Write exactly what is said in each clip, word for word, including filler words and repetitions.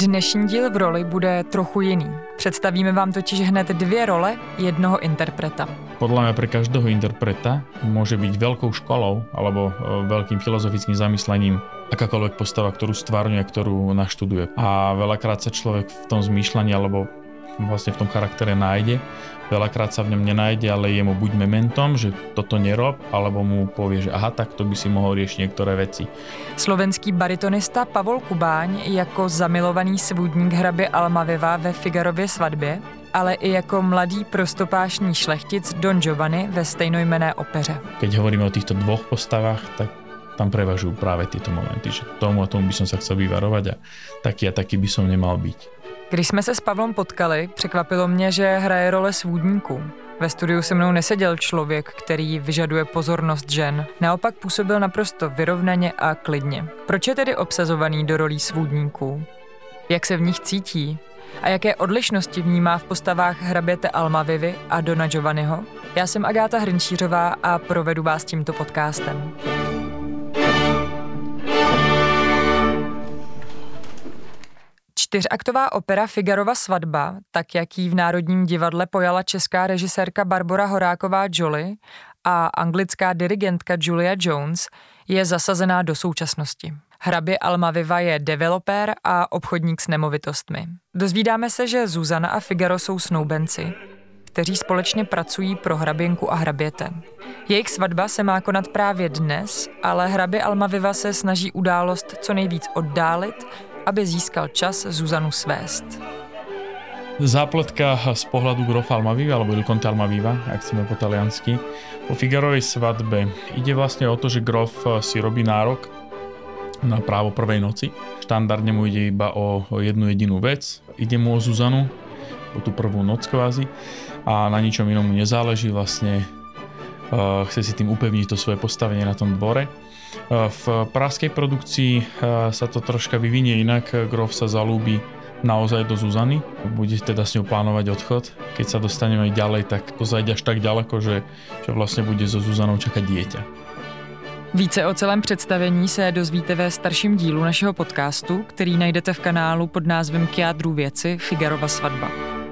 Dnešní díl v roli bude trochu jiný. Představíme vám totiž hned dvě role jednoho interpreta. Podľa mňa pre každého interpreta môže byť veľkou školou alebo veľkým filozofickým zamyslením akákoľvek postava, ktorú stvárňuje, ktorú naštuduje. A veľakrát sa človek v tom zmýšľaní alebo vlastne v tom charaktere nájde. Veľakrát sa v ňom nenájde, ale je mu buď mementom, že toto nerob, alebo mu povie, že aha, tak to by si mohol riešiť niektoré veci. Slovenský baritonista Pavol Kubáň jako zamilovaný svůdník hrabě Almaviva ve Figarově svatbě, ale i jako mladý prostopášný šlechtic Don Giovanni ve stejnojmenné opeře. Keď hovoríme o týchto dvoch postavách, tak tam prevažujú práve tieto momenty, že tomu a tomu by som sa chcel vyvarovať a taký a taký by som nemal byť. Když jsme se s Pavlem potkali, překvapilo mě, že hraje role svůdníků. Ve studiu se mnou neseděl člověk, který vyžaduje pozornost žen. Naopak působil naprosto vyrovnaně a klidně. Proč je tedy obsazovaný do rolí svůdníků? Jak se v nich cítí? A jaké odlišnosti vnímá v postavách hraběte Almavivy a Dona Giovanniho? Já jsem Agáta Hrnčířová a provedu vás tímto podcastem. Čtyřaktová opera Figarova svatba, tak jak ji v Národním divadle pojala česká režisérka Barbora Horáková Joly a anglická dirigentka Julia Jones, je zasazená do současnosti. Hrabě Almaviva je developer a obchodník s nemovitostmi. Dozvídáme se, že Zuzana a Figaro jsou snoubenci, kteří společně pracují pro hraběnku a hraběte. Jejich svatba se má konat právě dnes, ale hrabě Almaviva se snaží událost co nejvíc oddálit, aby získal čas Zuzanu svést. Zápletka z pohľadu grofa Almaviva, alebo Il Conte Almaviva, ak chceme po taliansky. Po Figarovej svadbe ide vlastne o to, že grof si robí nárok na právo prvej noci. Štandardne mu ide iba o, o jednu jedinú vec. Ide mu o Zuzanu, o tú prvú noc kvázi a na ničom inom mu nezáleží. Vlastne uh, chce si tým upevniť to svoje postavenie na tom dvore. V pražskej produkcii sa to troška vyvinie inak. Grof sa zalúbi naozaj do Zuzany. Bude teda s ňou plánovať odchod. Keď sa dostaneme ďalej, tak to zajde až tak ďaleko, že, že vlastne bude so Zuzanou čakať dieťa. Více o celém představení se dozvíte ve starším dílu našeho podcastu, který najdete v kanálu pod názvem K jádru věci Figarova svatba.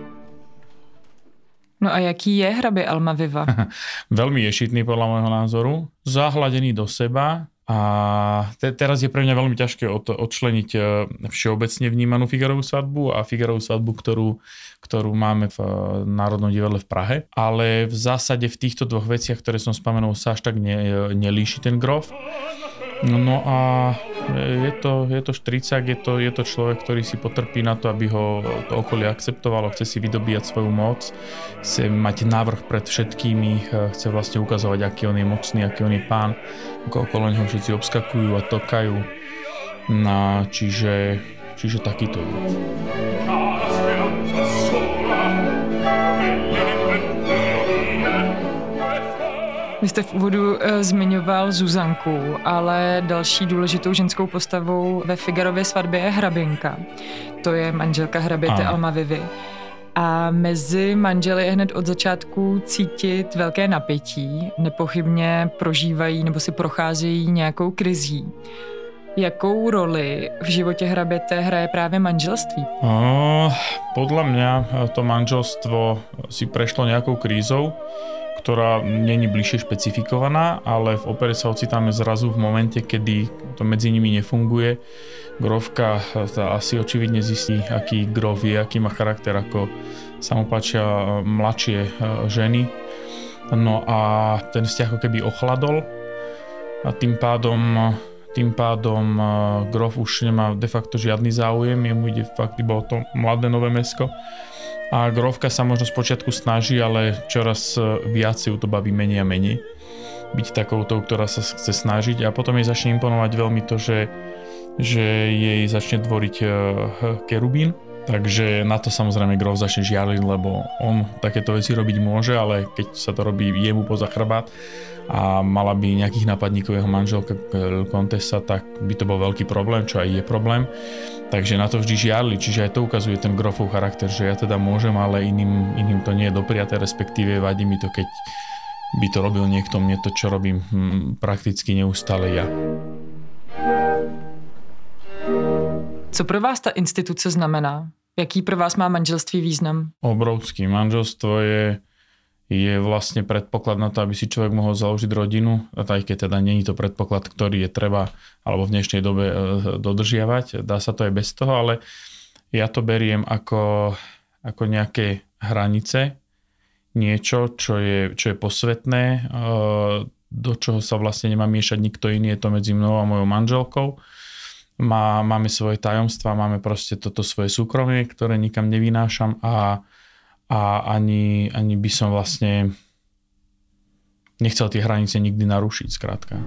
No a jaký je hrabě Almaviva? Veľmi ješitný podľa môjho názoru, zahladený do seba a te- teraz je pre mňa veľmi ťažké od- odčleniť všeobecne vnímanú Figarovú svadbu a Figarovú svadbu, ktorú, ktorú máme v Národnom divadle v Prahe. Ale v zásade v týchto dvoch veciach, ktoré som spomenul, sa až tak ne- nelíši ten grof. No a je to, je to štricák, je to, je to človek, ktorý si potrpí na to, aby ho to okolie akceptovalo, chce si vydobíjať svoju moc, chce mať návrh pred všetkými, chce vlastne ukazovať, aký on je mocný, aký on je pán, ako okolo neho všetci obskakujú a tokajú. No, čiže, čiže takýto je. Vy jste v úvodu e, zmiňoval Zuzanku, ale další důležitou ženskou postavou ve Figarově svatbě je hraběnka. To je manželka hraběte Almavivy. A mezi manželi je hned od začátku cítit velké napětí. Nepochybně prožívají nebo si procházejí nějakou krizí. Jakou roli v životě hraběte hraje právě manželství? O, podľa mňa to manželstvo si prešlo nejakou krízou, ktorá není bližšie špecifikovaná, ale v opere sa ocitáme zrazu v momente, kedy to medzi nimi nefunguje. Grofka asi očividne zistí, aký grof je, aký má charakter, ako sa mu páčia mladšie ženy. No a ten vzťah ako keby ochladol a tým pádom, tým pádom grof už nemá de facto žiadny záujem, jemu ide fakt iba o to mladé nové mäsko. A grofka sa možno spočiatku snaží, ale čoraz viac ju to baví menej a menej. Byť takoutou, ktorá sa chce snažiť a potom jej začne imponovať veľmi to, že, že jej začne tvoriť kerubín. Takže na to samozrejme grof začne žialiť, lebo on takéto veci robiť môže, ale keď sa to robí jemu poza chrbát a mala by nejakých nápadníkov jeho manželka Kontesa, tak by to bol veľký problém, čo aj je problém. Takže na to vždy žiarli, čiže aj to ukazuje ten grofov charakter, že ja teda môžem, ale iným, iným to nie je dopriaté, respektíve vadí mi to, keď by to robil niekto, mne to, čo robím hm, prakticky neustále ja. Co pro vás ta instituce znamená? Jaký pro vás má manželství význam? Obrovský. Manželstvo je, je vlastne predpoklad na to, aby si človek mohol založiť rodinu. A aj keď teda nie je to predpoklad, ktorý je treba alebo v dnešnej dobe dodržiavať. Dá sa to aj bez toho, ale ja to beriem ako, ako nejaké hranice. Niečo, čo je, čo je posvetné, do čoho sa vlastne nemá miešať nikto iný. Je to medzi mnou a mojou manželkou. Má, máme svoje tajomstvá, máme proste toto svoje súkromie, ktoré nikam nevynášam a, a ani, ani by som vlastne nechcel tie hranice nikdy narušiť, skrátka.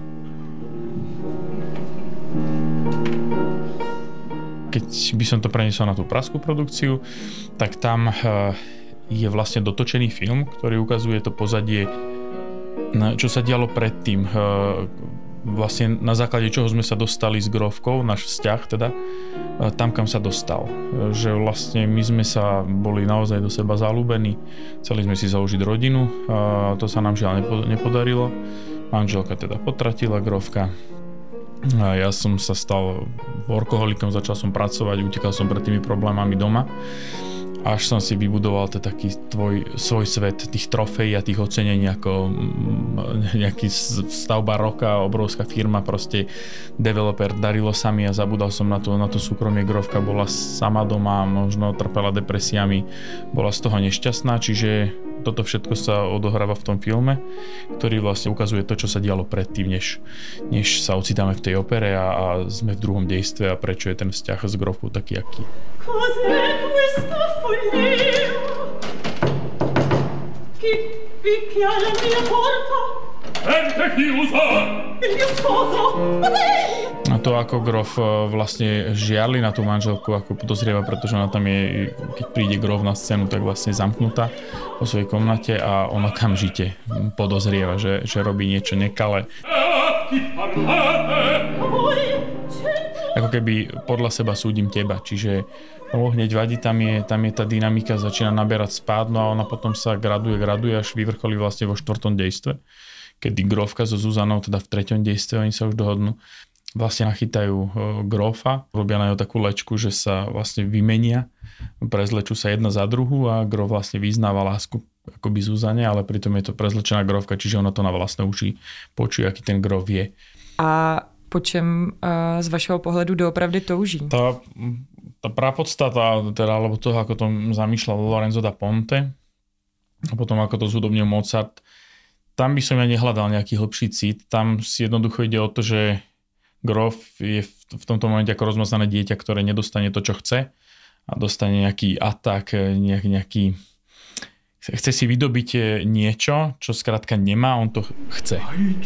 Keď by som to preniesol na tú pražskú produkciu, tak tam je vlastne dotočený film, ktorý ukazuje to pozadie, čo sa dialo predtým. Vlastne na základe čoho sme sa dostali s Grófkou, náš vzťah teda, tam, kam sa dostal. Že vlastne my sme sa boli naozaj do seba zalúbení, chceli sme si založiť rodinu, a to sa nám žiaľ nepodarilo. Manželka teda potratila, Grófka. A ja som sa stal workoholikom, začal som pracovať, utekal som pred tými problémami doma. Až som si vybudoval ten taký tvoj, svoj svet tých trofejí a tých ocenení ako nejaký stavba roka, obrovská firma, proste developer, darilo sa mi a zabudal som na to, na to súkromie. Grófka bola sama doma, možno trpela depresiami, bola z toho nešťastná, čiže toto všetko sa odohráva v tom filme, ktorý vlastne ukazuje to, čo sa dialo predtým, než, než sa ocitáme v tej opere a, a sme v druhom dejstve a prečo je ten vzťah s Grófkou taký, aký. A to, ako Gróf vlastne žiarli na tú manželku, ako podozrieva, pretože ona tam je, keď príde Gróf na scénu, tak vlastne zamknutá vo svojej komnate a ona okamžite podozrieva, že, že robí niečo nekalé. Ako keby podľa seba súdim teba, čiže no, hneď vadí, tam je, tam je tá dynamika, začína naberať spád, no a ona potom sa graduje, graduje, až vyvrcholí vlastne vo štvrtom dejstve, kedy Grófka so Zuzanou, teda v treťom dejstve, oni sa už dohodnú, vlastne nachytajú Grófa, robia na ňo takú lečku, že sa vlastne vymenia, prezlečú sa jedna za druhú a Gróf vlastne vyznáva lásku akoby Zuzane, ale pritom je to prezlečená Grófka, čiže ona to na vlastné uši počuje, aký ten Gróf je. A po čem uh, z vašeho pohledu doopravdy touží? Tá, tá prapodstata, teda, alebo toho, ako to zamýšľal Lorenzo da Ponte a potom ako to zhudobnil Mozart, tam by som ja nehľadal nejaký hlbší cít. Tam si jednoducho ide o to, že Gróf je v tomto momente ako rozmaznané dieťa, ktoré nedostane to, čo chce a dostane nejaký atak, nejak, nejaký chce si vydobiť niečo, čo skrátka nemá, on to chce.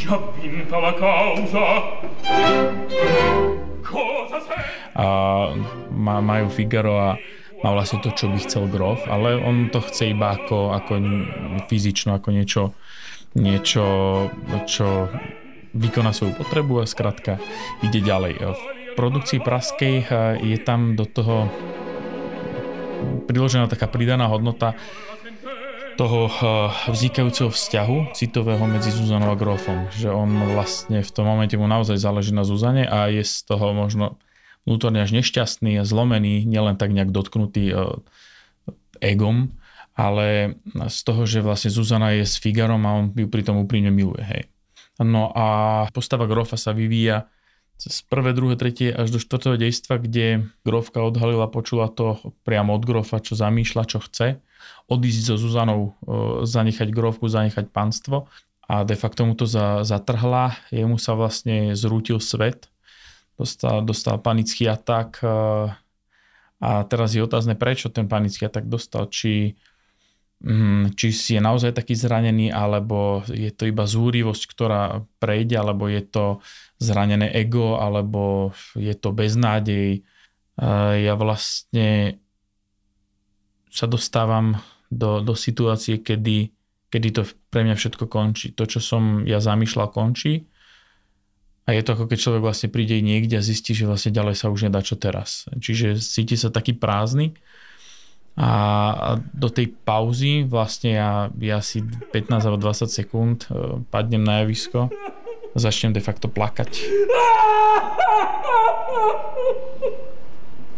A majú Figaro a má vlastne to, čo by chcel Gróf, ale on to chce iba ako, ako fyzično, ako niečo, niečo, čo vykoná svoju potrebu a skrátka ide ďalej. V produkcii pražskej je tam do toho priložená taká pridaná hodnota toho vznikajúceho vzťahu citového medzi Zuzanou a Grófom. Že on vlastne v tom momente mu naozaj záleží na Zuzane a je z toho možno vnútorne až nešťastný a zlomený, nielen tak nejak dotknutý egom, ale z toho, že vlastne Zuzana je s Figarom a on ju pritom úprimne miluje. Hej. No a postava Grófa sa vyvíja z prvé, druhé, tretie až do štvrtého dejstva, kde Grófka odhalila, počula to priamo od Grófa, čo zamýšľa, čo chce. Odísť so Zuzanou, zanechať Grófku, zanechať panstvo a de facto mu to za, zatrhla. Jemu sa vlastne zrútil svet, dostal, dostal panický atak a teraz je otázne, prečo ten panický atak dostal. Či, či si je naozaj taký zranený, alebo je to iba zúrivosť, ktorá prejde, alebo je to zranené ego, alebo je to beznádej. Ja vlastne sa dostávam do, do situácie, kedy, kedy to pre mňa všetko končí. To, čo som ja zamýšľal, končí. A je to ako keď človek vlastne príde niekde a zistí, že vlastne ďalej sa už nedá, čo teraz. Čiže cíti sa taký prázdny. A, a do tej pauzy vlastne ja, ja si pätnásť alebo dvadsať sekúnd padnem na javisko a začnem de facto plakať.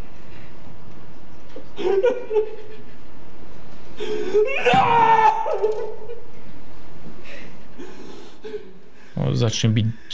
No, začnem byť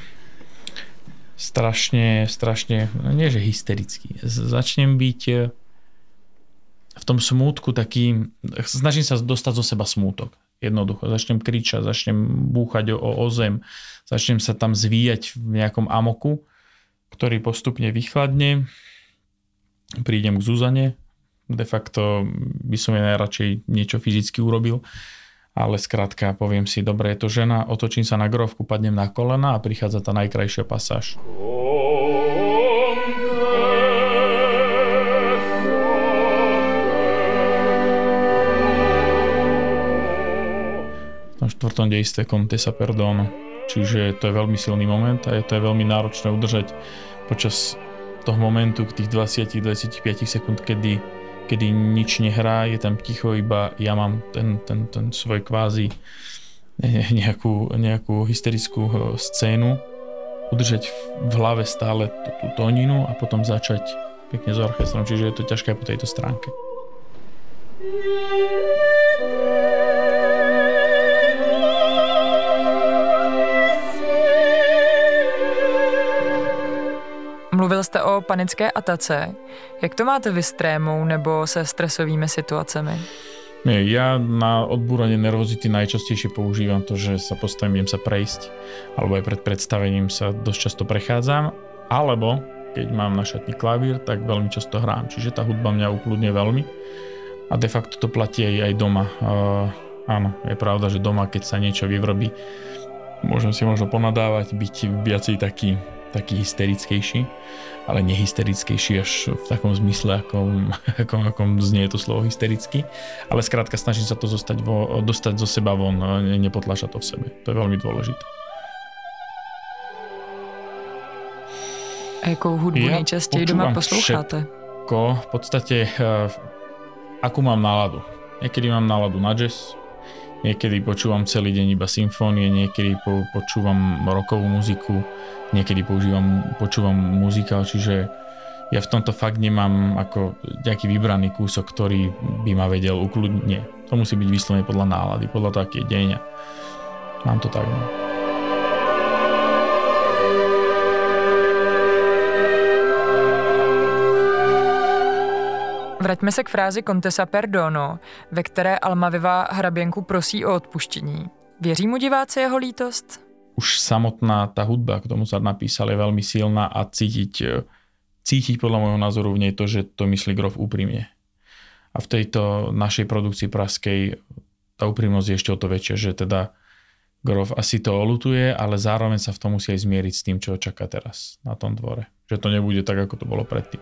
strašne, strašne, nie že hysterický, začnem byť v tom smútku taký, snažím sa dostať zo seba smútok. Jednoducho, začnem kričať, začnem búchať o, o zem, začnem sa tam zvíjať v nejakom amoku, ktorý postupne vychladne, prídem k Zuzane, de facto by som jej najradšej niečo fyzicky urobil, ale skrátka poviem si, dobre, je to žena, otočím sa na grófku, padnem na kolena a prichádza tá najkrajšia pasáž. V tom štvrtom dejstve Contessa Perdono, čiže to je veľmi silný moment a je to je veľmi náročné udržať počas toho momentu k tých dvadsať až dvadsaťpäť sekúnd, kedy kedy nič nehrá, je tam ticho, iba ja mám ten, ten, ten svoj kvázi nejakú, nejakú hysterickú scénu, udržať v hlave stále tú, tú tóninu a potom začať pekne s orchestrom, čiže je to ťažké po tejto stránke. Mluvil jste o panické atace. Jak to máte vy s trémou nebo se stresovými situacemi? Nie, ja na odbúranie nervozity najčastejšie používam to, že sa postavím, idem sa prejsť, alebo aj pred predstavením sa dosť často prechádzam, alebo keď mám na šatni klavír, tak veľmi často hrám. Čiže tá hudba mňa ukludne veľmi a de facto to platí aj, aj doma. Uh, áno, je pravda, že doma, keď sa niečo vyvrobí, môžem si možno ponadávať, byť viacej taký taký hysterickejší, ale nehysterickejší až v takom zmysle, akom, akom, akom znie to slovo hysterický. Ale skrátka snažím sa to zostať vo, dostať zo seba von, nepotlačať to v sebe. To je veľmi dôležité. A jakou hudbu ja nejčastěji doma posloucháte? Všetko, v podstate akú mám náladu. Niekedy mám náladu na jazz, niekedy počúvam celý deň iba symfónie, niekedy po, počúvam rockovú muziku, niekedy používam, počúvam muzikál, čiže ja v tomto fakt nemám ako nejaký vybraný kúsok, ktorý by ma vedel ukludniť. Nie, to musí byť vyslovene podľa nálady, podľa toho, aký je deň. Mám to tak. No. Vraťme se k frázi Contessa Perdono, ve které Almaviva hraběnku prosí o odpuštění. Věří mu diváci jeho lítost? Už samotná tá hudba, k tomu sa napísal, je veľmi silná a cítiť, cítiť podľa môjho názoru v nej to, že to myslí Grof úprimne. A v tejto našej produkcii praskej tá úprimnosť je ešte o to väčšia, že teda Grof asi to oľutuje, ale zároveň sa v tom musí aj zmieriť s tým, čo čaká teraz na tom dvore. Že to nebude tak, ako to bolo predtým.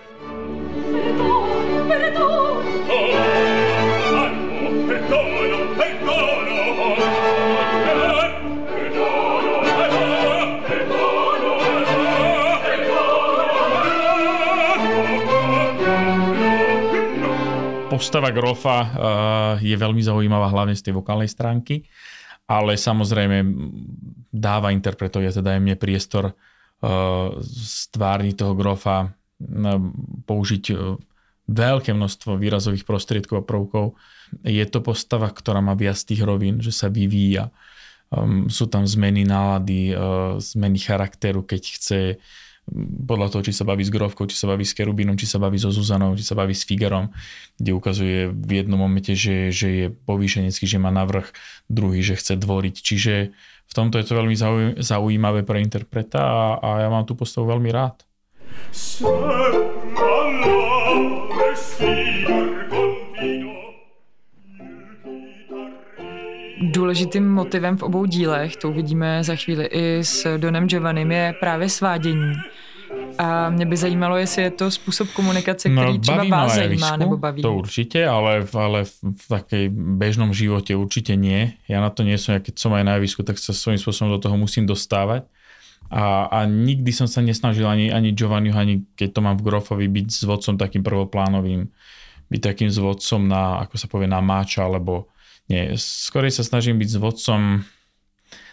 Postava Grofa uh, je veľmi zaujímavá hlavne z tej vokálnej stránky, ale samozrejme dáva interpretovi, teda aj mne priestor uh, stvárniť toho Grofa, uh, použiť uh, veľké množstvo výrazových prostriedkov a prvkov. Je to postava, ktorá má viac tých rovín, že sa vyvíja. Um, sú tam zmeny nálady, uh, zmeny charakteru, keď chce podľa toho, či sa baví s Grovkou, či sa baví s Kerubinom, či sa baví so Zuzanou, či sa baví s Figarom, kde ukazuje v jednom momente, že, že je povýšenecký, že má navrch, druhý, že chce dvoriť. Čiže v tomto je to veľmi zaujímavé pre interpreta a, a ja mám tú postavu veľmi rád. Důležitým motivem v obou dílech, to uvidíme za chvíli i s Donem Giovannim, je právě svádění. A mě by zajímalo, jestli je to způsob komunikace, který no, třeba vás zajímá nebo baví. To určite, ale, ale v, v takej bežnom živote určite nie. Ja na to nie som, ja keď som aj na javisku, tak sa svojím spôsobom do toho musím dostávať. A, a nikdy som sa nesnažil ani, ani Giovanniho, ani keď to mám v Grofovi, byť s vodcom takým prvoplánovým. Byť takým s vodcom na, ako sa povie, na máča, alebo nie. Skorej sa snažím byť s vodcom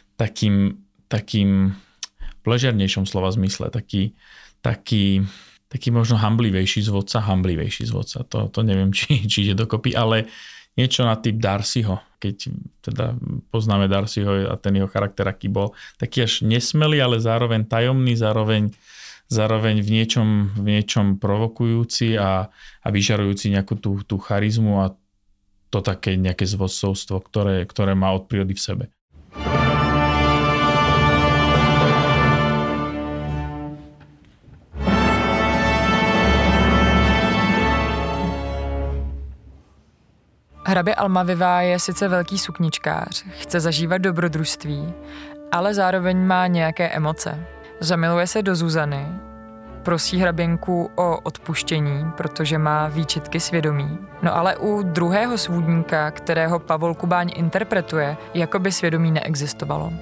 takým, takým v ležernejšom slova zmysle, taký, taký, taký možno hamblivejší zvodca, hamblivejší zvodca, to, to neviem, či, či ide dokopy, ale niečo na typ Darcyho, keď teda poznáme Darcyho a ten jeho charakter, aký bol, taký až nesmelý, ale zároveň tajomný, zároveň, zároveň v niečom, v niečom provokujúci a, a vyžarujúci nejakú tú, tú charizmu a to také nejaké zvodcovstvo, ktoré, ktoré má od prírody v sebe. Hrabě Almaviva je sice velký sukničkář, chce zažívat dobrodružství, ale zároveň má nějaké emoce. Zamiluje se do Zuzany, prosí hraběnku o odpuštění, protože má výčitky svědomí. No ale u druhého svůdníka, kterého Pavol Kubáň interpretuje, jako by svědomí neexistovalo.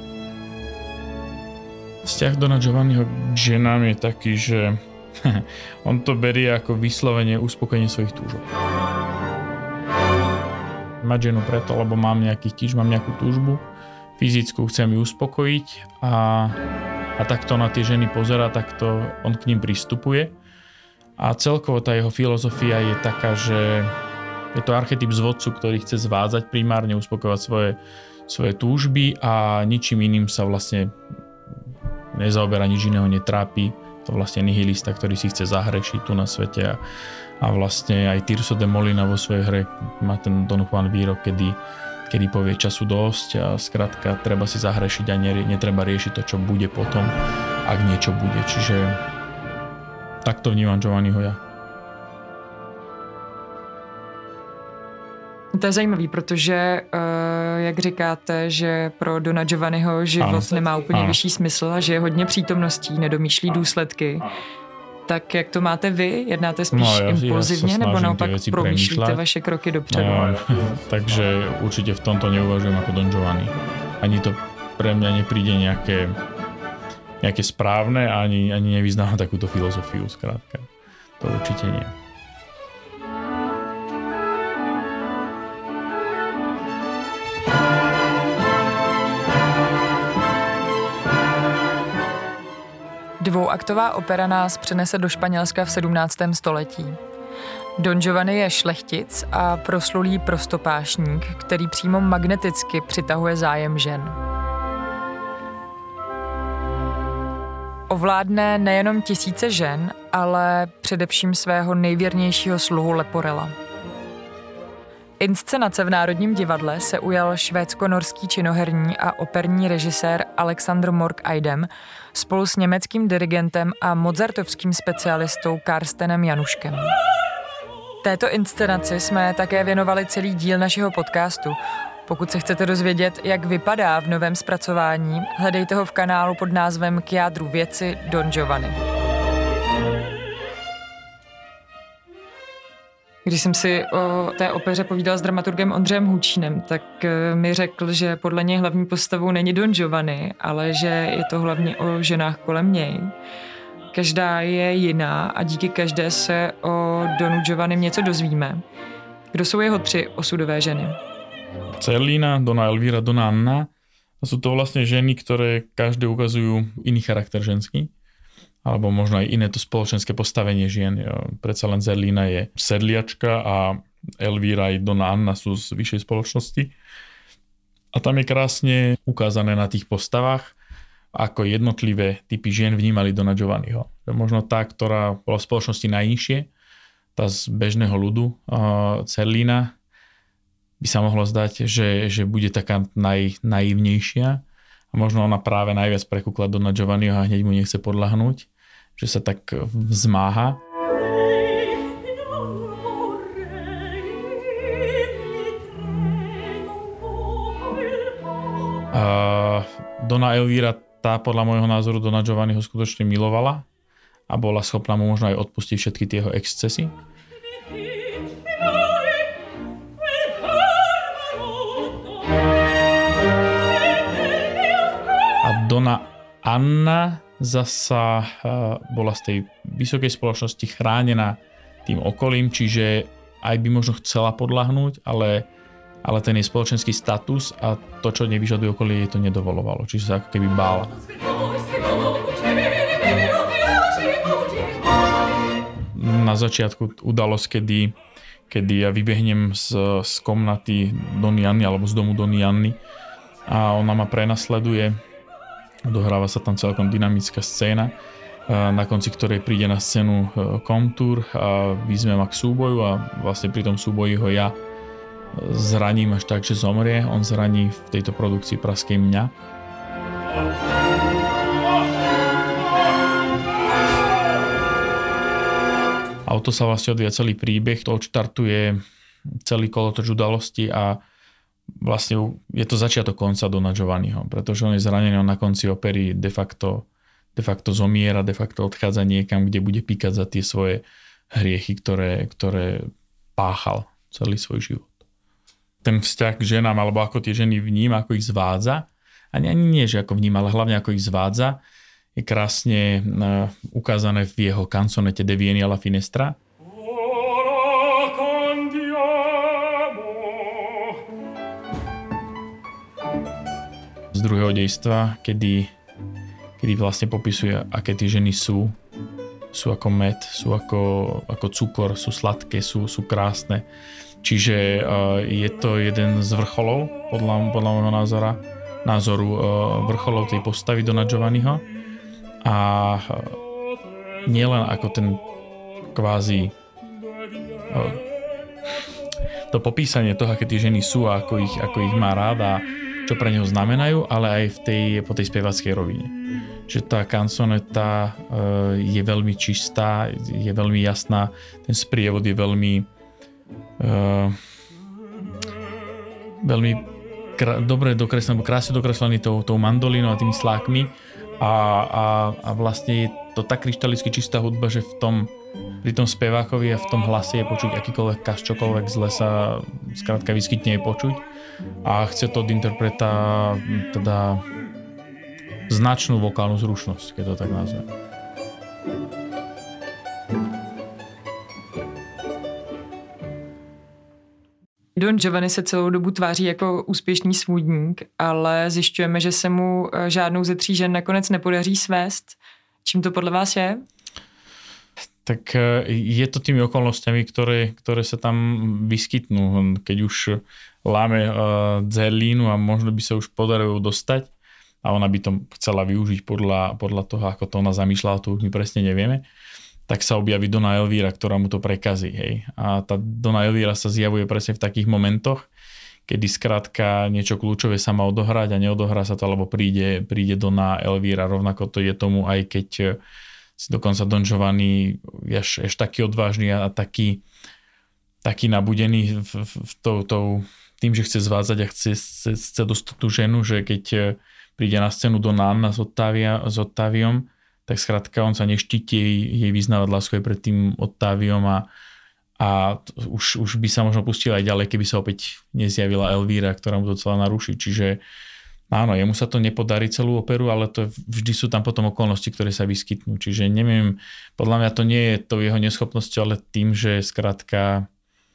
Vzťah Dona Giovanniho k ženám je taký, že on to berie ako vyslovene uspokojenie svojich túžob. Mať ženu preto, lebo mám nejaký tíž, mám nejakú túžbu fyzickú, chcem ju uspokojiť a, a takto na tie ženy pozerá, takto on k ním pristupuje. A celkovo tá jeho filozofia je taká, že je to archetyp zvodcu, ktorý chce zvádzať primárne, uspokojovať svoje, svoje túžby a ničím iným sa vlastne nezaoberá, nič iného netrápi. To vlastne nihilista, ktorý si chce zahrešiť tu na svete a, a vlastne aj Tirso de Molina vo svojej hre má ten Don Juan výrok, kedy, kedy povie času dosť a skrátka treba si zahrešiť a netreba riešiť to, čo bude potom, ak niečo bude. Čiže takto vnímam Giovanniho ja. To je zajímavý, protože, uh, jak říkáte, že pro Dona Giovanniho život ano. nemá úplně ano. vyšší smysl a že je hodně přítomností, nedomýšlí důsledky. Tak jak to máte vy? Jednáte spíš no, ja, impulzivně ja nebo naopak promýšlíte vaše kroky dopředu? No, takže určite v tomto neuvažujem ako Don Giovanni. Ani to pre mňa nepríde nejaké, nejaké správne, ani, ani nevyznávam takúto filozofiu, skrátka. To určite nie. Dvouaktová opera nás přenese do Španělska v sedmnáctém století. Don Giovanni je šlechtic a proslulý prostopášník, který přímo magneticky přitahuje zájem žen. Ovládne nejenom tisíce žen, ale především svého nejvěrnějšího sluhu Leporela. Inscenace v Národním divadle se ujal švédsko-norský činoherní a operní režisér Alexander Mork Eidem spolu s německým dirigentem a mozartovským specialistou Karstenem Januškem. Této inscenaci jsme také věnovali celý díl našeho podcastu. Pokud se chcete dozvědět, jak vypadá v novém zpracování, hledejte ho v kanálu pod názvem K jádru věci Don Giovanni. Když jsem si o té opeře povídala s dramaturgem Ondřejem Hučínem, tak mi řekl, že podle něj hlavní postavou není Don Giovanni, ale že je to hlavně o ženách kolem něj. Každá je jiná a díky každé se o Donu Giovannim něco dozvíme. Kdo jsou jeho tři osudové ženy? Zerlina, Dona Elvíra, Dona Anna. A sú to vlastne ženy, ktoré každé ukazujú iný charakter ženský. Alebo možno aj iné to spoločenské postavenie žien. Predsa len Zerlina je sedliačka a Elvíra aj Dona Anna sú z vyššej spoločnosti. A tam je krásne ukázané na tých postavách, ako jednotlivé typy žien vnímali Dona Giovanniho. Možno tá, ktorá bola v spoločnosti najnižšie, tá z bežného ľudu, Zerlina, by sa mohlo zdať, že, že bude taká naj, naivnejšia a možno ona práve najviac prekúkla Dona Giovanniho a hneď mu nechce podľahnúť, že sa tak vzmáha. A Dona Elvíra, tá podľa môjho názoru Dona Giovanniho skutočne milovala a bola schopná mu možno aj odpustiť všetky tie jeho excesy. Dona Anna zasa bola z tej vysokej spoločnosti chránená tým okolím, čiže aj by možno chcela podľahnúť, ale, ale ten jej spoločenský status a to, čo nevyžaduje okolie, jej to nedovolovalo. Čiže sa ako keby bála. na začiatku udalosť, kedy, kedy ja vybehnem z, z komnaty Dony Janny alebo z domu Dony Janny a ona ma prenasleduje. Dohráva sa tam celkom dynamická scéna, na konci ktorej príde na scénu Komtur a vyzme ma k súboju a vlastne pri tom súboji ho ja zraním až tak, že zomrie. On zraní v tejto produkcii praskej mňa. A o to sa vlastne odvíja celý príbeh, to odštartuje celý kolotoč udalosti a vlastne je to začiatok konca Dona Giovanniho, pretože on je zranený, on na konci opery de facto, de facto zomiera, de facto odchádza niekam, kde bude píkať za tie svoje hriechy, ktoré, ktoré páchal celý svoj život. Ten vzťah k ženám, alebo ako tie ženy vníma, ako ich zvádza, ani, ani nie, že ako vníma, ale hlavne ako ich zvádza, je krásne uh, ukázané v jeho kansonete De Vieni alla Finestra. Z druhého dejstva, kedy, kedy vlastne popisuje, aké tie ženy sú. Sú ako med, sú ako, ako cukor, sú sladké, sú, sú krásne. Čiže uh, je to jeden z vrcholov, podľa, podľa môjho názora, názoru uh, vrcholov tej postavy Dona Giovanniho. A uh, nielen ako ten kvázi uh, to popísanie toho, aké tie ženy sú a ako ich, ako ich má rád a čo pre neho znamenajú, ale aj v tej, po tej spevackej rovine. Že tá kansoneta uh, je veľmi čistá, je veľmi jasná, ten sprievod je veľmi uh, veľmi kr- dobre dokreslený, krásne dokreslený tou, tou mandolínou a tými slákmi a, a, a vlastne je to tak kryštalicky čistá hudba, že v tom, pri tom spevákovi a v tom hlase je počuť akýkoľvek kaš, čokoľvek zle sa skrátka vyskytne je počuť a chce to od interpreta teda značnú vokálnu zručnosť, keď to tak nazvem. Don Giovanni se celou dobu tváří jako úspěšný svůdník, ale zjišťujeme, že se mu žádnou ze tří žen nakonec nepodaří svést. Čím to podle vás je? Tak je to tými okolnostiami, ktoré, ktoré sa tam vyskytnú. Keď už láme uh, dzerlínu a možno by sa už podarilo dostať a ona by to chcela využiť podľa, podľa toho, ako to ona zamýšľala, to už my presne nevieme, tak sa objaví Dona Elvíra, ktorá mu to prekazí. Hej. A tá Dona Elvíra sa zjavuje presne v takých momentoch, kedy skrátka niečo kľúčové sa má odohrať a neodohrá sa to, alebo príde, príde Dona Elvíra. Rovnako to je tomu, aj keď si dokonca Don Giovanni je až, až taký odvážny a taký, taký nabudený v, v, v tou, tou, tým, že chce zvádzať a chce, chce, chce dostať tú ženu, že keď príde na scénu Dona Anna s, Ottavia, s Ottaviom, tak skrátka on sa neštíti jej, jej vyznávať lásku aj pred tým Ottaviom a, a už, už by sa možno pustil aj ďalej, keby sa opäť nezjavila Elvíra, ktorá mu to celá naruší. Čiže áno, jemu sa to nepodarí celú operu, ale to vždy sú tam potom okolnosti, ktoré sa vyskytnú. Čiže neviem, podľa mňa to nie je to jeho neschopnosťou, ale tým, že skrátka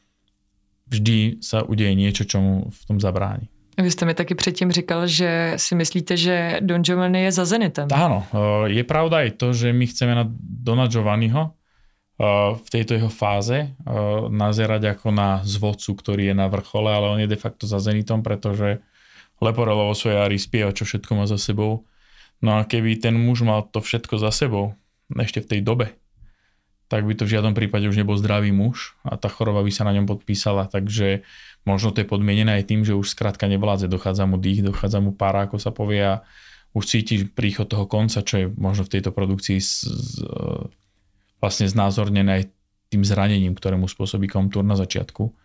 vždy sa udeje niečo, čo mu v tom zabráni. Vy jste mi taky předtím říkal, že si myslíte, že Don Giovanni je za Zenitem. Áno, je pravda aj to, že my chceme na Dona Giovanniho v tejto jeho fáze nazerať ako na zvodcu, ktorý je na vrchole, ale on je de facto za Zenitom, pretože Leporello vo svojej árii spieva, čo všetko má za sebou. No a keby ten muž mal to všetko za sebou, ešte v tej dobe, tak by to v žiadnom prípade už nebol zdravý muž a tá choroba by sa na ňom podpísala. Takže možno to je podmienené aj tým, že už skrátka nevládze, dochádza mu dých, dochádza mu pára, ako sa povie a už cíti príchod toho konca, čo je možno v tejto produkcii z, z, vlastne znázornené aj tým zranením, ktoré mu spôsobí Komtur na začiatku.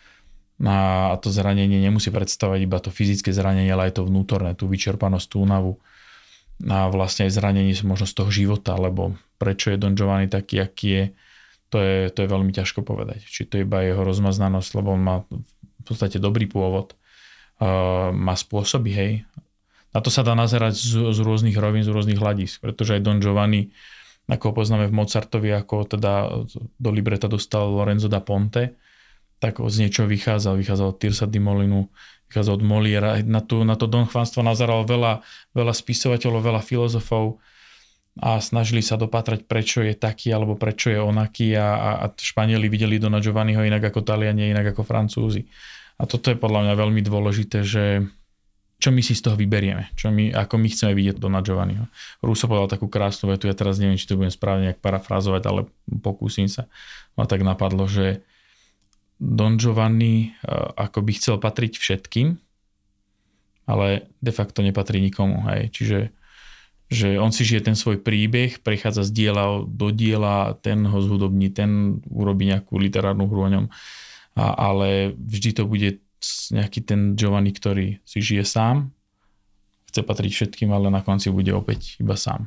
A to zranenie nemusí predstavovať iba to fyzické zranenie, ale aj to vnútorné, tú vyčerpanosť, tú únavu. A vlastne aj zranenie možno z toho života, lebo prečo je Don Giovanni taký, aký je, to je, to je veľmi ťažko povedať. Či to je iba jeho rozmaznanosť, lebo on má v podstate dobrý pôvod, uh, má spôsoby, hej. Na to sa dá nazerať z, z rôznych rovín, z rôznych hľadisk, pretože aj Don Giovanni, ako ho poznáme v Mozartovi, ako teda do libreta dostal Lorenzo da Ponte, tak z niečoho vychádzal. Vychádzal od Tirsa di Molinu, vychádzal od Moliera. Na, tú, na to Don Juanstvo nazeral veľa, veľa spisovateľov, veľa filozofov a snažili sa dopatrať, prečo je taký alebo prečo je onaký a, a Španieli videli Dona Giovanniho inak ako Taliani, inak ako Francúzi. A toto je podľa mňa veľmi dôležité, že čo my si z toho vyberieme, čo my, ako my chceme vidieť Dona Giovanniho. Rousseau povedal takú krásnu vetu, ja teraz neviem, či to budem správne nejak parafrázovať, ale pokúsim sa. Ma tak napadlo, že Don Giovanni ako by chcel patriť všetkým, ale de facto nepatrí nikomu. Hej. Čiže že on si žije ten svoj príbeh, prechádza z diela do diela, ten ho zhudobní, ten urobí nejakú literárnu hru o ňom. A, ale vždy to bude nejaký ten Giovanni, ktorý si žije sám, chce patriť všetkým, ale na konci bude opäť iba sám.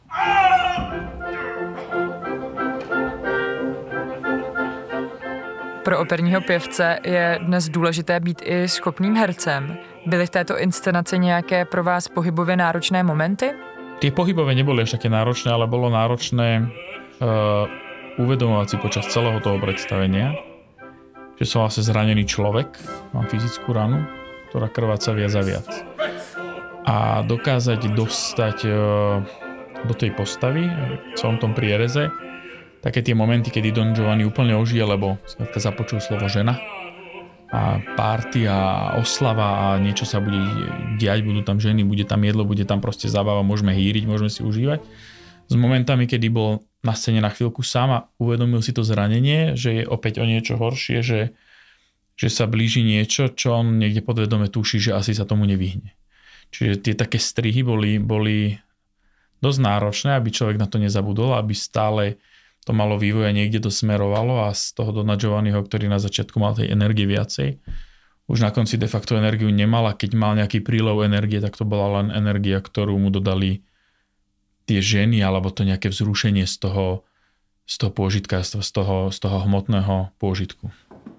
Pro operního pěvce je dnes důležité být i schopným hercem. Byly v této inscenaci nějaké pro vás pohybově náročné momenty? Tie pohybové neboli až také náročné, ale bolo náročné uh, uvedomovať si počas celého toho predstavenia, že som vlastne zranený človek, mám fyzickú ranu, ktorá krváca viac a viac. A dokázať dostať uh, do tej postavy v celom tom priereze také tie momenty, kedy Don Giovanni úplne ožije, lebo započul slovo žena a party a oslava a niečo sa bude diať, budú tam ženy, bude tam jedlo, bude tam proste zábava, môžeme hýriť, môžeme si užívať. S momentami, kedy bol na scéne na chvíľku sám a uvedomil si to zranenie, že je opäť o niečo horšie, že, že sa blíži niečo, čo on niekde podvedome tuší, že asi sa tomu nevyhne. Čiže tie také strihy boli, boli dosť náročné, aby človek na to nezabudol, aby stále to malo vývoj a niekde to smerovalo a z toho Dona Giovanniho, ktorý na začiatku mal tej energie viacej, už na konci de facto energiu nemal a keď mal nejaký prílev energie, tak to bola len energia, ktorú mu dodali tie ženy alebo to nejaké vzrušenie z toho, z toho pôžitka, z toho, z toho hmotného pôžitku.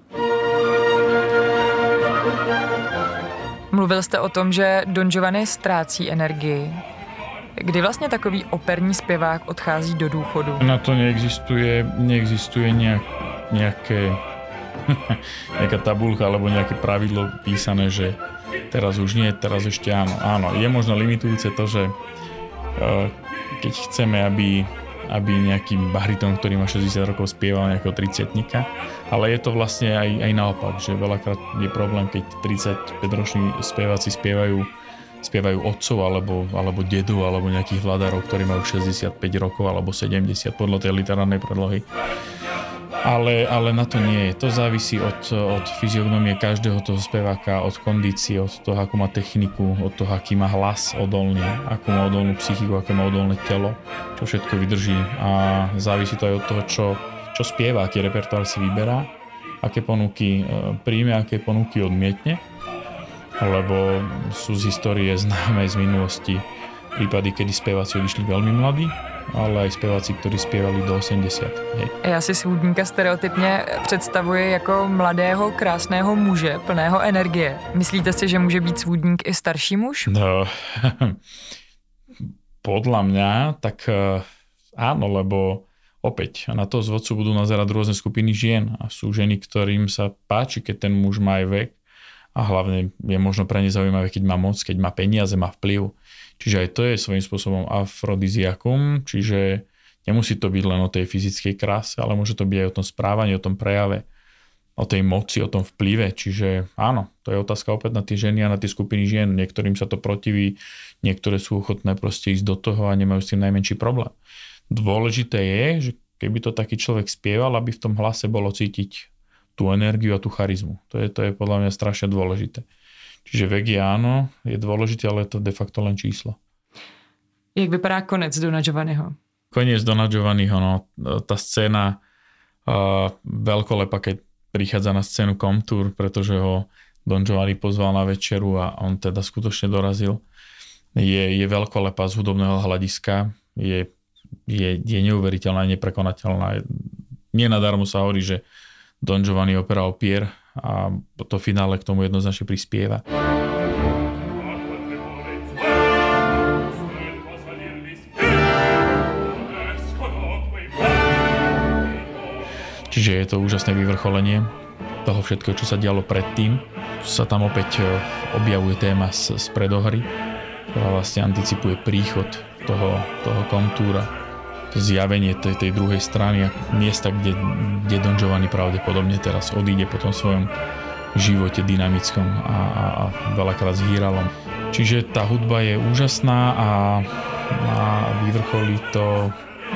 Mluvil jste o tom, že Don Giovanni ztrácí energii. Kdy vlastně takový operní zpěvák odchází do důchodu? Na to neexistuje, neexistuje nejak, nejaké, nejaká tabulka alebo nejaké pravidlo písané, že teraz už nie, teraz ešte áno. Áno, je možno limitujúce to, že uh, keď chceme, aby, aby nejaký bariton, ktorý má šesťdesiat rokov, spieval nejakého tridsiatnika, ale je to vlastne aj, aj naopak, že veľakrát je problém, keď tridsaťpäťroční speváci spievajú spievajú otcov alebo, alebo dedu alebo nejakých vladárov, ktorí majú šesťdesiatpäť rokov alebo sedemdesiat podľa tej literárnej predlohy. Ale, ale na to nie je. To závisí od, od fyziognomie každého toho speváka, od kondície, od toho, akú má techniku, od toho, aký má hlas odolný, akú má odolnú psychiku, aké má odolné telo, čo všetko vydrží. A závisí to aj od toho, čo, čo spieva, aký repertoár si vyberá, aké ponuky príjme, aké ponuky odmietne. Lebo sú z histórie známe z minulosti prípady, kedy speváci odišli veľmi mladí, ale aj speváci, ktorí spievali do osemdesiat. Hej. Já si svůdníka stereotypně představuji jako mladého, krásného muže, plného energie. Myslíte si, že může být svůdník i starší muž? No, podľa mňa, tak áno, lebo opäť na toho zvodcu budú nazerať rôzne skupiny žien a sú ženy, ktorým sa páči, keď ten muž má aj vek. A hlavne je možno pre ne zaujímavé, keď má moc, keď má peniaze, má vplyv. Čiže aj to je svojím spôsobom afrodiziakum, čiže nemusí to byť len o tej fyzickej kráse, ale môže to byť aj o tom správaní, o tom prejave, o tej moci, o tom vplyve. Čiže áno, to je otázka opäť na tie ženy a na tie skupiny žien. Niektorým sa to protiví, niektoré sú ochotné proste ísť do toho a nemajú s tým najmenší problém. Dôležité je, že keby to taký človek spieval, aby v tom hlase bolo cítiť tú energiu a tú charizmu. To je, to je podľa mňa strašne dôležité. Čiže vek je áno, je dôležité, ale je to de facto len číslo. Jak vypadá konec Dona Giovanniho? Koniec Dona Giovanniho, no, tá scéna uh, veľkolepa, keď prichádza na scénu Comtour, pretože ho Don Giovanni pozval na večeru a on teda skutočne dorazil. Je, je veľkolepá z hudobného hľadiska, je, je, je neuveriteľná, neprekonateľná. Nenadarmo sa hovorí, že Don Giovanni opera o Pier a to finále k tomu jednoznačne prispieva. Čiže je to úžasné vyvrcholenie toho všetkého, čo sa dialo predtým. Sa tam opäť objavuje téma z, z predohry, ktorá vlastne anticipuje príchod toho, toho kontúra. To zjavenie tej, tej druhej strany a miesta, kde, kde Don Giovanni pravdepodobne teraz odíde po tom svojom živote dynamickom a, a, a veľakrát s hýralom. Čiže tá hudba je úžasná a, a vyvrcholí to.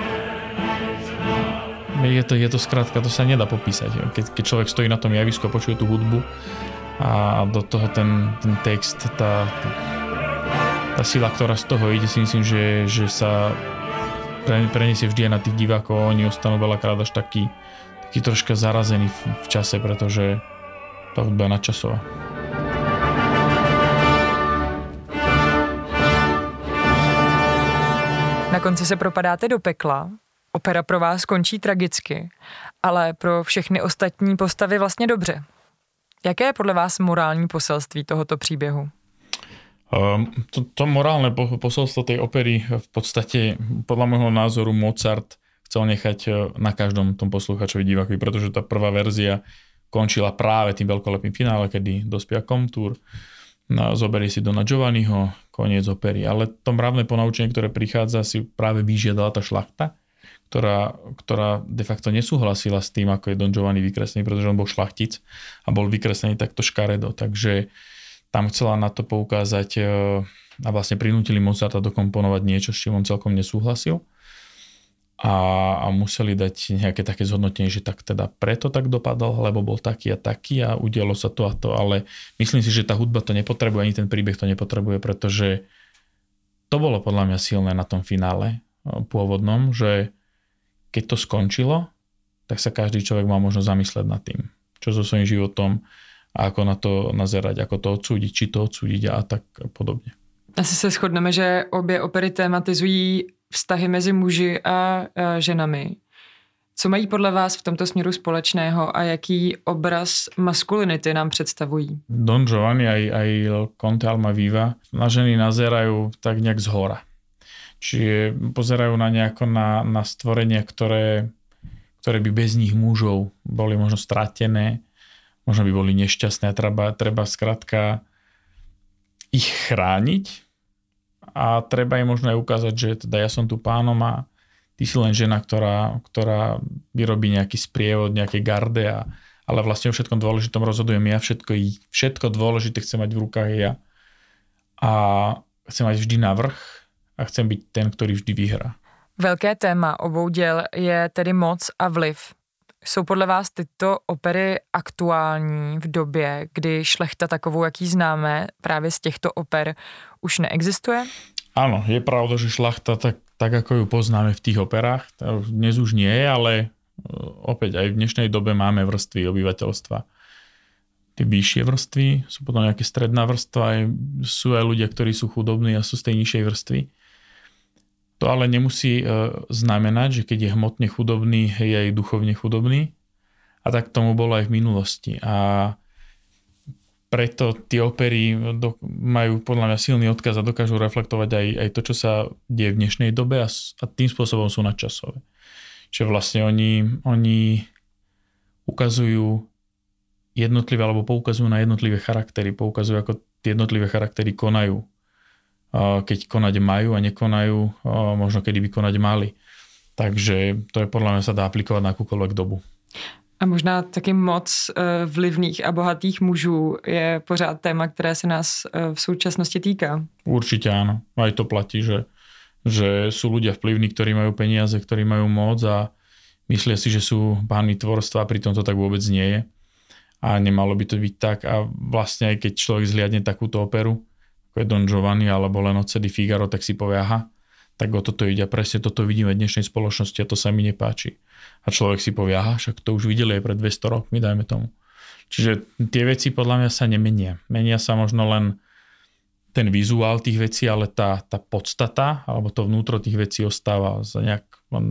Je to, je to skrátka, to sa nedá popísať. Keď, keď človek stojí na tom javisku a počuje tú hudbu a do toho ten, ten text, tá, tá sila, ktorá z toho ide, si myslím, že, že sa preniesie vždy aj na tých divákov. Oni ostanú veľakrát až taký, taký troška zarazení v, v čase, pretože tá hudba je nadčasová. Na konci se propadáte do pekla. Opera pro vás končí tragicky, ale pro všechny ostatní postavy vlastně dobře. Jaké je podle vás morální poselství tohoto příběhu? Um, to, to morálne posolstvo tej opery v podstate, podľa môjho názoru, Mozart chcel nechať na každom tom posluchačovi, divákovi, pretože tá prvá verzia končila práve tým veľkolepým finále, kedy dospia kontúr, zoberie si Dona Giovanniho, koniec opery. Ale to mravné ponaučenie, ktoré prichádza, si práve vyžiadala tá šlachta, ktorá, ktorá de facto nesúhlasila s tým, ako je Don Giovanni vykreslený, pretože on bol šlachtic a bol vykreslený takto škaredo. Takže tam chcela na to poukázať a vlastne prinútili Mozarta dokomponovať niečo, s čím on celkom nesúhlasil. A, a museli dať nejaké také zhodnotenie, že tak teda preto tak dopadol, lebo bol taký a taký a udialo sa to a to. Ale myslím si, že tá hudba to nepotrebuje, ani ten príbeh to nepotrebuje, pretože to bolo podľa mňa silné na tom finále pôvodnom, že keď to skončilo, tak sa každý človek mal možno zamyslieť nad tým, čo so svojím životom a ako na to nazerať, ako to odsúdiť, či to odsúdiť a tak podobne. Asi se shodneme, že obě opery tematizují vztahy mezi muži a, a ženami. Co mají podle vás v tomto směru společného a jaký obraz maskulinity nám představují? Don Giovanni aj, aj Conte Almaviva na ženy nazerajú tak nejak zhora. Čiže pozerajú na nejako na, na stvorenia, ktoré, ktoré by bez nich mužov boli možno stratené, možno by boli nešťastné a treba, treba skrátka ich chrániť a treba im možno aj ukázať, že teda ja som tu pánom a ty si len žena, ktorá, ktorá vyrobí nejaký sprievod, nejaké garde, a, ale vlastne o všetkom dôležitom rozhodujem ja, všetko, všetko dôležité chcem mať v rukách ja a chcem mať vždy navrch a chcem byť ten, ktorý vždy vyhrá. Velké téma obou děl je tedy moc a vliv. Jsou podle vás tyto opery aktuální v době, kdy šlechta takovou, jaký známe právě z těchto oper, už neexistuje? Áno, je pravda, že šlachta tak, tak ako ju poznáme v tých operách, dnes už nie je, ale opäť aj v dnešnej dobe máme vrstvy obyvateľstva. Tie vyššie vrstvy, sú potom nejaké stredná vrstva, aj, sú aj ľudia, ktorí sú chudobní a sú z tej nižšej vrstvy. To ale nemusí e, znamenať, že keď je hmotne chudobný, je aj duchovne chudobný. A tak tomu bolo aj v minulosti. A preto tie opery do, majú podľa mňa silný odkaz a dokážu reflektovať aj, aj to, čo sa deje v dnešnej dobe a, a tým spôsobom sú nadčasové. Čiže vlastne oni, oni ukazujú jednotlivé, alebo poukazujú na jednotlivé charaktery, poukazujú, ako tie jednotlivé charaktery konajú. Keď konať majú a nekonajú, možno kedy by konať mali. Takže to je podľa mňa sa dá aplikovať na akúkoľvek dobu. A možná taky moc vlivných a bohatých mužů je pořád téma, které se nás v současnosti týká. Určite áno. Aj to platí, že, že sú ľudia vplyvní, ktorí majú peniaze, ktorí majú moc a myslia si, že sú páni tvorstva, pritom to tak vôbec nie je. A nemalo by to byť tak. A vlastne aj keď človek zliadne takúto operu, ako je Don Giovanni alebo Lenozze di Figaro, tak si povie, aha, tak o toto ide. A presne toto vidíme v dnešnej spoločnosti a to sa mi nepáči. A človek si povie, aha, však to už videli aj pred dvesto rokmi, dajme tomu. Čiže tie veci podľa mňa sa nemenia. Menia sa možno len ten vizuál tých vecí, ale tá, tá podstata alebo to vnútro tých vecí ostáva za nejak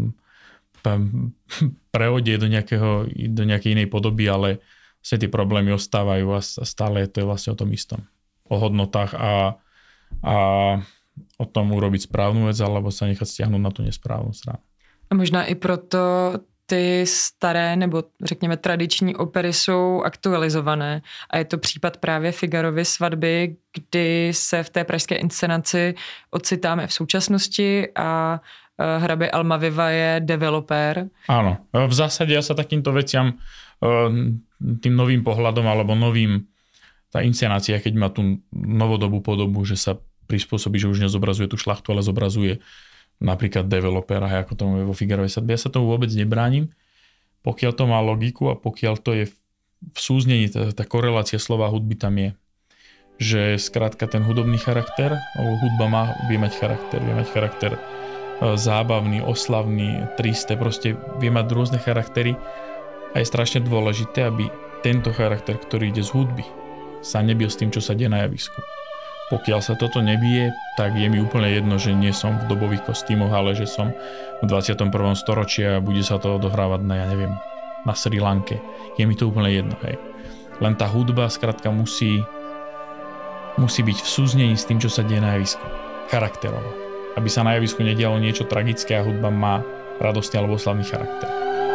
prehodie do, nejakého, do nejakej inej podoby, ale vlastne tie problémy ostávajú a stále to je vlastne o tom istom. O hodnotách a, a o tom urobiť správnu vec alebo sa nechať stiahnuť na tú nesprávnu stranu. A možná i proto ty staré nebo řekněme tradiční opery jsou aktualizované a je to případ právě Figarovy svatby, kdy se v té pražské inscenaci ocitáme v současnosti a hrabě Almaviva je developer. Áno, v zásade ja sa takýmto veciam tým novým pohľadom alebo novým, tá inscenácia, keď má tú novodobú podobu, že sa prispôsobí, že už nezobrazuje tú šlachtu, ale zobrazuje napríklad developera, ako tomu je vo Figarovej svadbe. Ja sa tomu vôbec nebránim, pokiaľ to má logiku a pokiaľ to je v súznení, tá, tá korelácia slova hudby tam je. Že skrátka ten hudobný charakter, hudba má, vie mať charakter, vie mať charakter zábavný, oslavný, tristé, proste vie mať rôzne charaktery a je strašne dôležité, aby tento charakter, ktorý ide z hudby, sa nebil s tým, čo sa deje na javisku. Pokiaľ sa toto nebije, tak je mi úplne jedno, že nie som v dobových kostýmoch, ale že som v dvadsiatom prvom storočí a bude sa to odohrávať na, ja neviem, na Sri Lanke. Je mi to úplne jedno, hej. Len tá hudba skrátka musí musí byť v súznení s tým, čo sa deje na javisku. Charakterovo. Aby sa na javisku nedialo niečo tragické a hudba má radostný alebo oslavný charakter.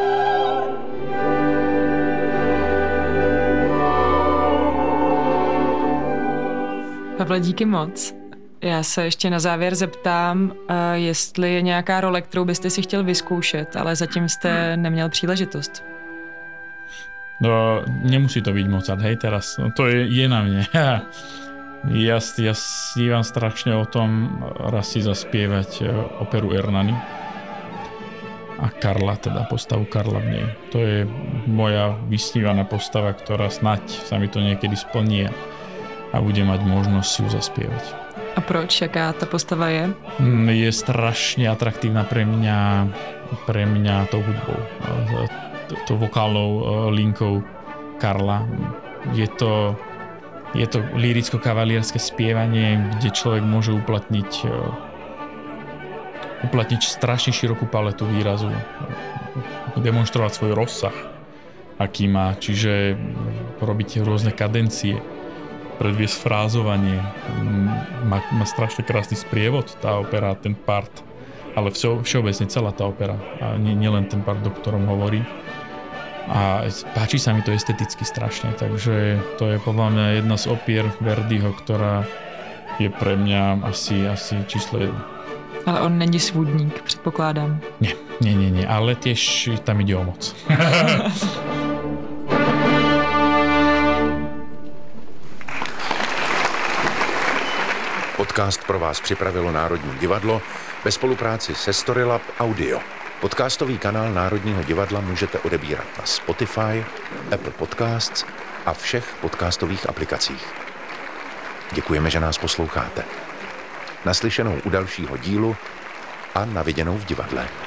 Pavle, díky moc. Já se ještě na závěr zeptám, jestli je nějaká role, kterou byste si chtěl vyzkoušet, ale zatím jste neměl příležitost. No, nemusí to byť Mozart, hej, teraz. No, to je, je na mne. Ja, ja snívam strašne o tom raz si zaspievať operu Ernani a Karla, teda postavu Karla v nej. To je moja vysnívaná postava, ktorá snať sa mi to niekedy splní a bude mať možnosť si ju zaspievať. A proč? Jaká ta postava je? Je strašne atraktívna pre mňa, pre mňa tou hudbou, tou vokálnou linkou Karla. Je to, je to lyricko-kavalierské spievanie, kde človek môže uplatniť uplatniť strašne širokú paletu výrazu, demonstrovať svoj rozsah, aký má, čiže robiť rôzne kadencie, predviesť frázovanie. Má, má strašne krásny sprievod tá opera, ten part, ale vše, všeobecne celá tá opera a nie, nie len ten part, o ktorom hovorí. A páči sa mi to esteticky strašne, takže to je podľa mňa jedna z opier Verdiho, ktorá je pre mňa asi, asi číslo jedna. Ale on není svůdník, předpokládám. Nie, nie, nie, nie, ale tiež tam ide o moc. Podcast pro vás připravilo Národní divadlo ve spolupráci se Storylab Audio. Podcastový kanál Národního divadla můžete odebírat na Spotify, Apple Podcasts a všech podcastových aplikacích. Děkujeme, že nás posloucháte. Naslyšenou u dalšího dílu a na viděnou v divadle.